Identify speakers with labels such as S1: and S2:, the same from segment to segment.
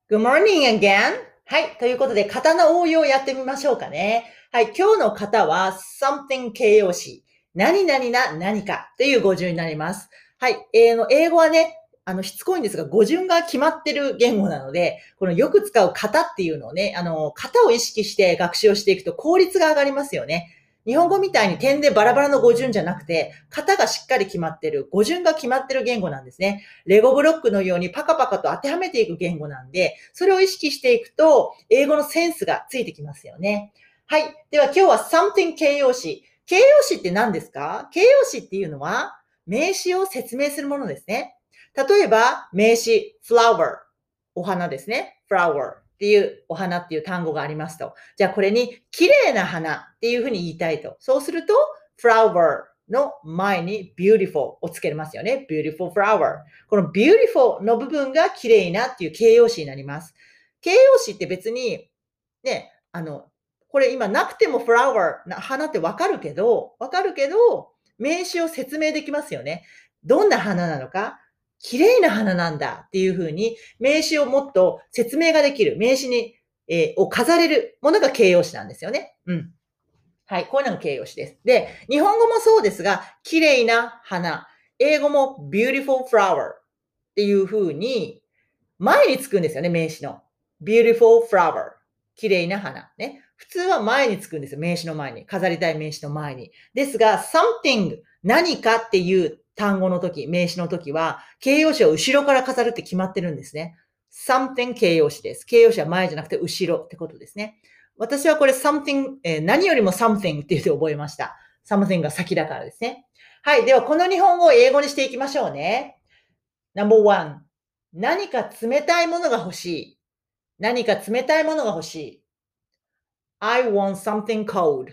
S1: Good morning again. はい。ということで、型の応用をやってみましょうかね。はい。今日の型は something 形容詞。何々な何かという語順になります。はい。英語はね、しつこいんですが、語順が決まってる言語なので、このよく使う型っていうのをね、型を意識して学習をしていくと効率が上がりますよね。日本語みたいに点でバラバラの語順じゃなくて、型がしっかり決まってる、語順が決まってる言語なんですね。レゴブロックのようにパカパカと当てはめていく言語なんで、それを意識していくと、英語のセンスがついてきますよね。はい。では今日は something 形容詞。形容詞って何ですか？形容詞っていうのは、名詞を説明するものですね。例えば、名詞、flower。お花ですね。flower。っていうお花っていう単語がありますと。じゃあこれに綺麗な花っていうふうに言いたいと。そうすると flower の前に beautiful をつけますよね。beautiful flower。この beautiful の部分が綺麗なっていう形容詞になります。形容詞って別にね、これ今なくても flower な花ってわかるけど、名詞を説明できますよね。どんな花なのか、綺麗な花なんだっていう風に、名詞をもっと説明ができる、名詞に、を飾れるものが形容詞なんですよね。うん。はい、こういうのが形容詞です。で、日本語もそうですが、綺麗な花。英語も beautiful flower っていう風に、前につくんですよね、名詞の。beautiful flower。綺麗な花。ね。普通は前につくんですよ、名詞の前に。飾りたい名詞の前に。ですが、something、何かっていう単語の時、名詞の時は、形容詞を後ろから飾るって決まってるんですね。something 形容詞です。形容詞は前じゃなくて後ろってことですね。私はこれ something、何よりも something って言って覚えました。something が先だからですね。はい。では、この日本語を英語にしていきましょうね。No.1、何か冷たいものが欲しい。何か冷たいものが欲しい。I want something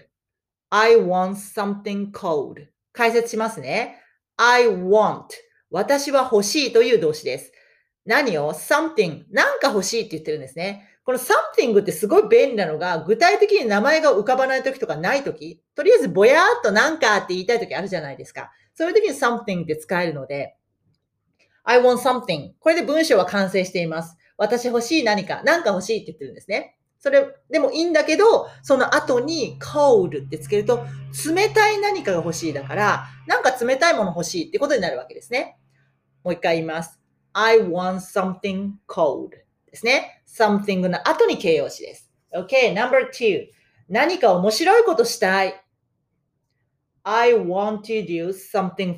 S1: cold.I want something cold. 解説しますね。I want. 私は欲しいという動詞です。何を ?something. なんか欲しいって言ってるんですね。この something ってすごい便利なのが、具体的に名前が浮かばないときとかないとき、とりあえずぼやーっとなんかって言いたいときあるじゃないですか。そういうときに something って使えるので、I want something. これで文章は完成しています。私欲しい何か、何か欲しいって言ってるんですね。それでもいいんだけど、その後に cold ってつけると、冷たい何かが欲しいだから、なんか冷たいもの欲しいってことになるわけですね。もう一回言います。I want something cold ですね。something の後に形容詞です。Okay, number two. 何か面白いことしたい。I want to do something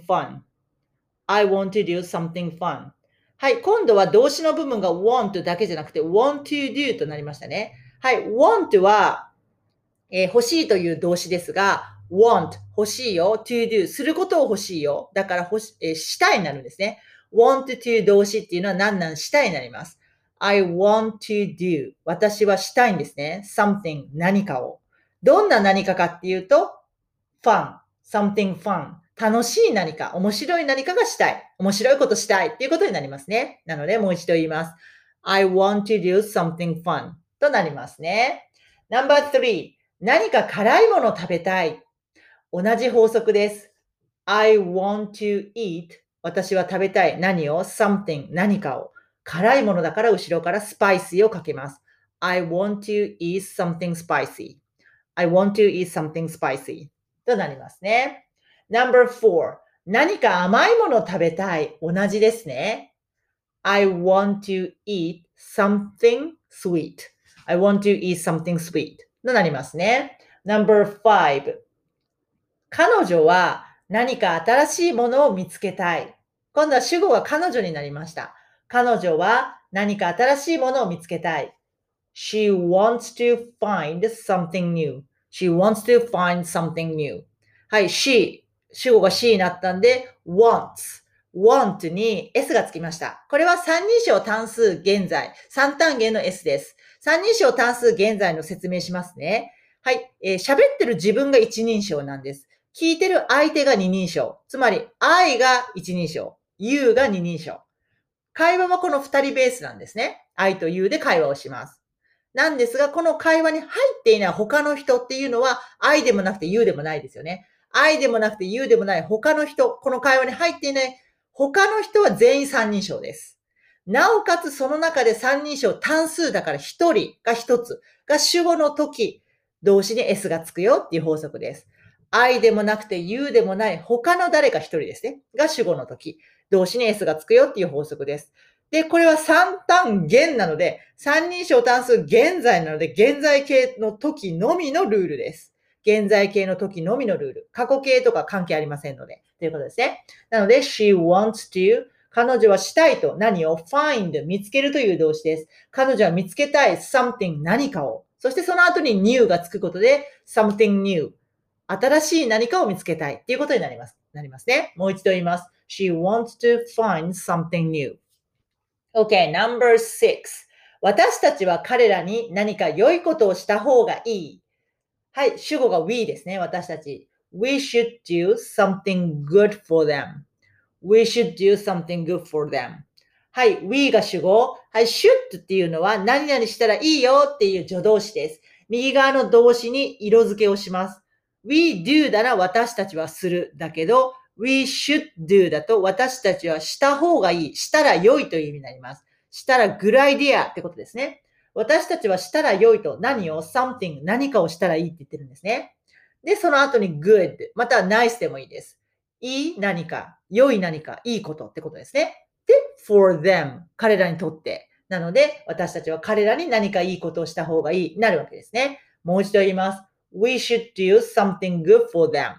S1: fun.I want to do something fun. はい、今度は動詞の部分が want だけじゃなくて want to do となりましたね。はい、want は、欲しいという動詞ですが、want 欲しいよ、to do することを欲しいよ。だからしたいになるんですね。want to 動詞っていうのは何々したいになります。I want to do 私はしたいんですね。something 何かを。どんな何かかっていうと、fun, something fun. 楽しい何か、面白い何かがしたい。面白いことしたいっていうことになりますね。なので、もう一度言います。I want to do something fun となりますね。No.3、何か辛いものを食べたい。同じ法則です。I want to eat 私は食べたい。何を ?something 何かを。辛いものだから後ろからスパイシーをかけます。I want to eat something spicy.I want to eat something spicy となりますね。No.4 何か甘いものを食べたい。同じですね。I want to eat something sweet. I want to eat something sweet となりますね。No.5 彼女は何か新しいものを見つけたい。今度は主語が彼女になりました。彼女は何か新しいものを見つけたい。She wants to find something new.She wants to find something new. はい、主語が she になったんで、want に s がつきました。これは三人称単数現在、三単元の s です。三人称単数現在の説明しますね。はい、喋ってる自分が一人称なんです。聞いてる相手が二人称。つまり、I が一人称、you が二人称。会話はこの二人ベースなんですね。I と you で会話をします。なんですが、この会話に入っていない他の人っていうのは、I でもなくて You でもないですよね。I でもなくて You でもない他の人、この会話に入っていない他の人は全員三人称です。 なおかつその中で三人称単数だから一人が一つが主語の時、動詞に S がつくよっていう法則です。I でもなくて You でもない他の誰か一人ですね。が主語の時、動詞に S がつくよっていう法則です。で、これは三単元なので、三人称単数現在なので、現在形の時のみのルールです。現在形の時のみのルール。過去形とか関係ありませんので。ということですね。なので、she wants to 彼女はしたいと何を find 見つけるという動詞です。彼女は見つけたい something 何かを。そしてその後に new がつくことで something new 新しい何かを見つけたいっていうことになりますね。もう一度言います。She wants to find something new. Okay, number 6. 私たちは彼らに何か良いことをした方がいい。はい、主語が we ですね、私たち。We should do something good for them.We should do something good for them. はい、we が主語。はい、should っていうのは何々したらいいよっていう助動詞です。右側の動詞に色付けをします。we do なら私たちはするだけど、we should do だと私たちはした方がいい。したら良いという意味になります。したら good idea ってことですね。私たちはしたら良いと何を something 何かをしたらいいって言ってるんですね。で、その後に good または nice でもいいです。いい何か、良い何か、いいことってことですね。で、for them 彼らにとって。なので、私たちは彼らに何かいいことをした方がいい、なるわけですね。もう一度言います。We should do something good for them.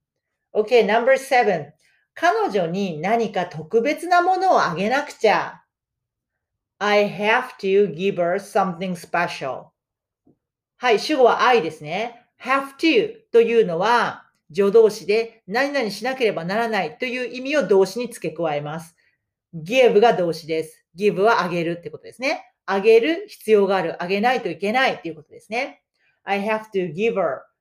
S1: Okay, number 7. 彼女に何か特別なものをあげなくちゃ。I have to give her something special. はい、主語は I ですね。have to というのは助動詞で何々しなければならないという意味を動詞に付け加えます。give が動詞です。give はあげるってことですね。あげる必要がある。あげないといけないっていうことですね。I have to give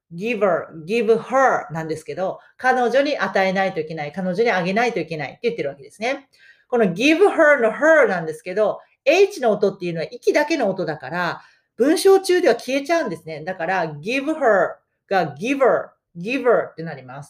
S1: her なんですけど、彼女に与えないといけない。彼女にあげないといけないって言ってるわけですね。この give her の her なんですけど、H の音っていうのは息だけの音だから、文章中では消えちゃうんですね。だから、give her が giver ってなります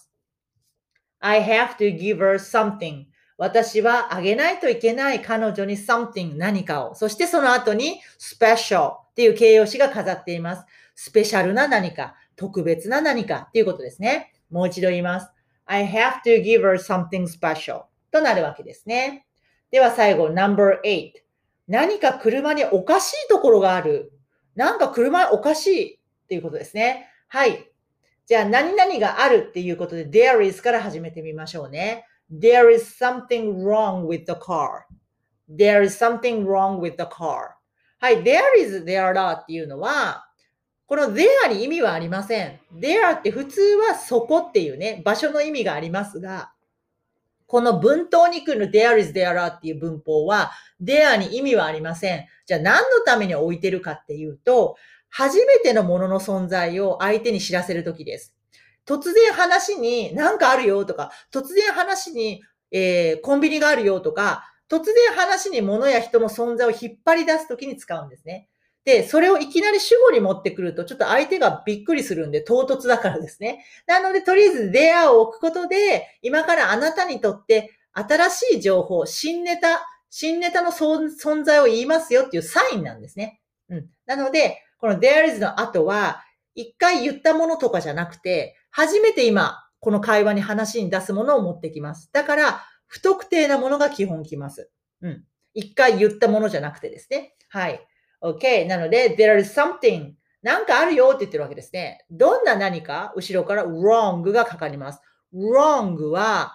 S1: 。I have to give her something. 私はあげないといけない彼女に something 何かを。そしてその後に special っていう形容詞が飾っています。スペシャルな何か、特別な何かっていうことですね。もう一度言います。I have to give her something special となるわけですね。では最後、No.8。何か車におかしいところがある。なんか車おかしいっていうことですね。はい。じゃあ、何々があるっていうことで、there is から始めてみましょうね。There is something wrong with the car.There is something wrong with the car. はい。there is, there are っていうのは、この there に意味はありません。there って普通はそこっていうね、場所の意味がありますが、この文頭に来る there is, there are っていう文法は、there に意味はありません。じゃあ何のために置いてるかっていうと、初めてのものの存在を相手に知らせるときです。突然話に何かあるよとか、突然話に、コンビニがあるよとか、突然話に物や人の存在を引っ張り出すときに使うんですね。で、それをいきなり主語に持ってくると、ちょっと相手がびっくりするんで、唐突だからですね。なので、とりあえず there を置くことで、今からあなたにとって新しい情報、新ネタの存在を言いますよっていうサインなんですね。なので、この there is の後は、一回言ったものとかじゃなくて、初めて今、この会話に話に出すものを持ってきます。だから、不特定なものが基本きます。一回言ったものじゃなくてですね。はい。OK。なので、there is something なんかあるよって言ってるわけですね。どんな何か後ろから wrong がかかります。wrong は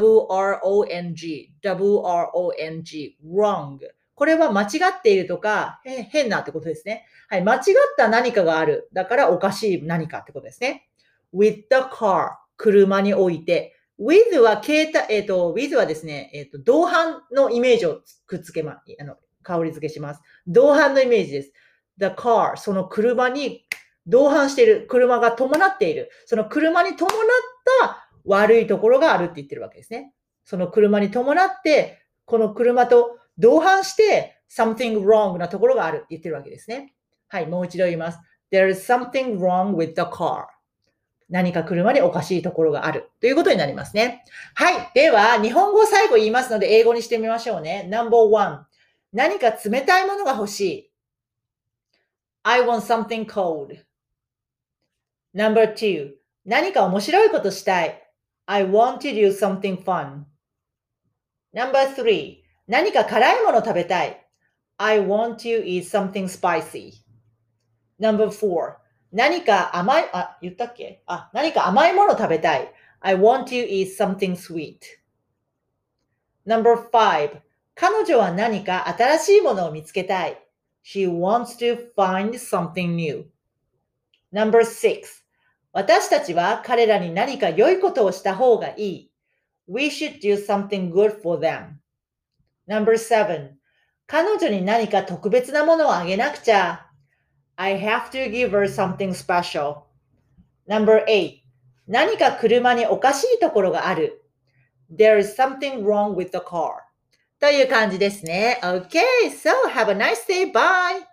S1: wrong。これは間違っているとか、変なってことですね。はい。間違った何かがある。だからおかしい何かってことですね。with the car。車に置いて。with はwith はですね、同伴のイメージをくっつけ香り付けします。同伴のイメージです。the car、その車に同伴している。車が伴っている。その車に伴った悪いところがあるって言ってるわけですね。その車に伴って、この車と同伴して、something wrong なところがあるって言ってるわけですね。はい、もう一度言います。There is something wrong with the car. 何か車におかしいところがあるということになりますね。はい。では、日本語を最後言いますので、英語にしてみましょうね。No.1。 何か冷たいものが欲しい。I want something cold. Number 2. 何か面白いことしたい。I want to do something fun. Number 3. 何か辛いもの食べたい。I want to eat something spicy. Number 4. 何か甘い、言ったっけ？何か甘いもの食べたい。I want to eat something sweet. Number 5. 彼女は何か新しいものを見つけたい。She wants to find something new. Number 6. 私たちは彼らに何か良いことをした方がいい。We should do something good for them. Number 7. 彼女に何か特別なものをあげなくちゃ。I have to give her something special. Number 8. 何か車におかしいところがある。There is something wrong with the car. という感じですね。Okay, so have a nice day. Bye!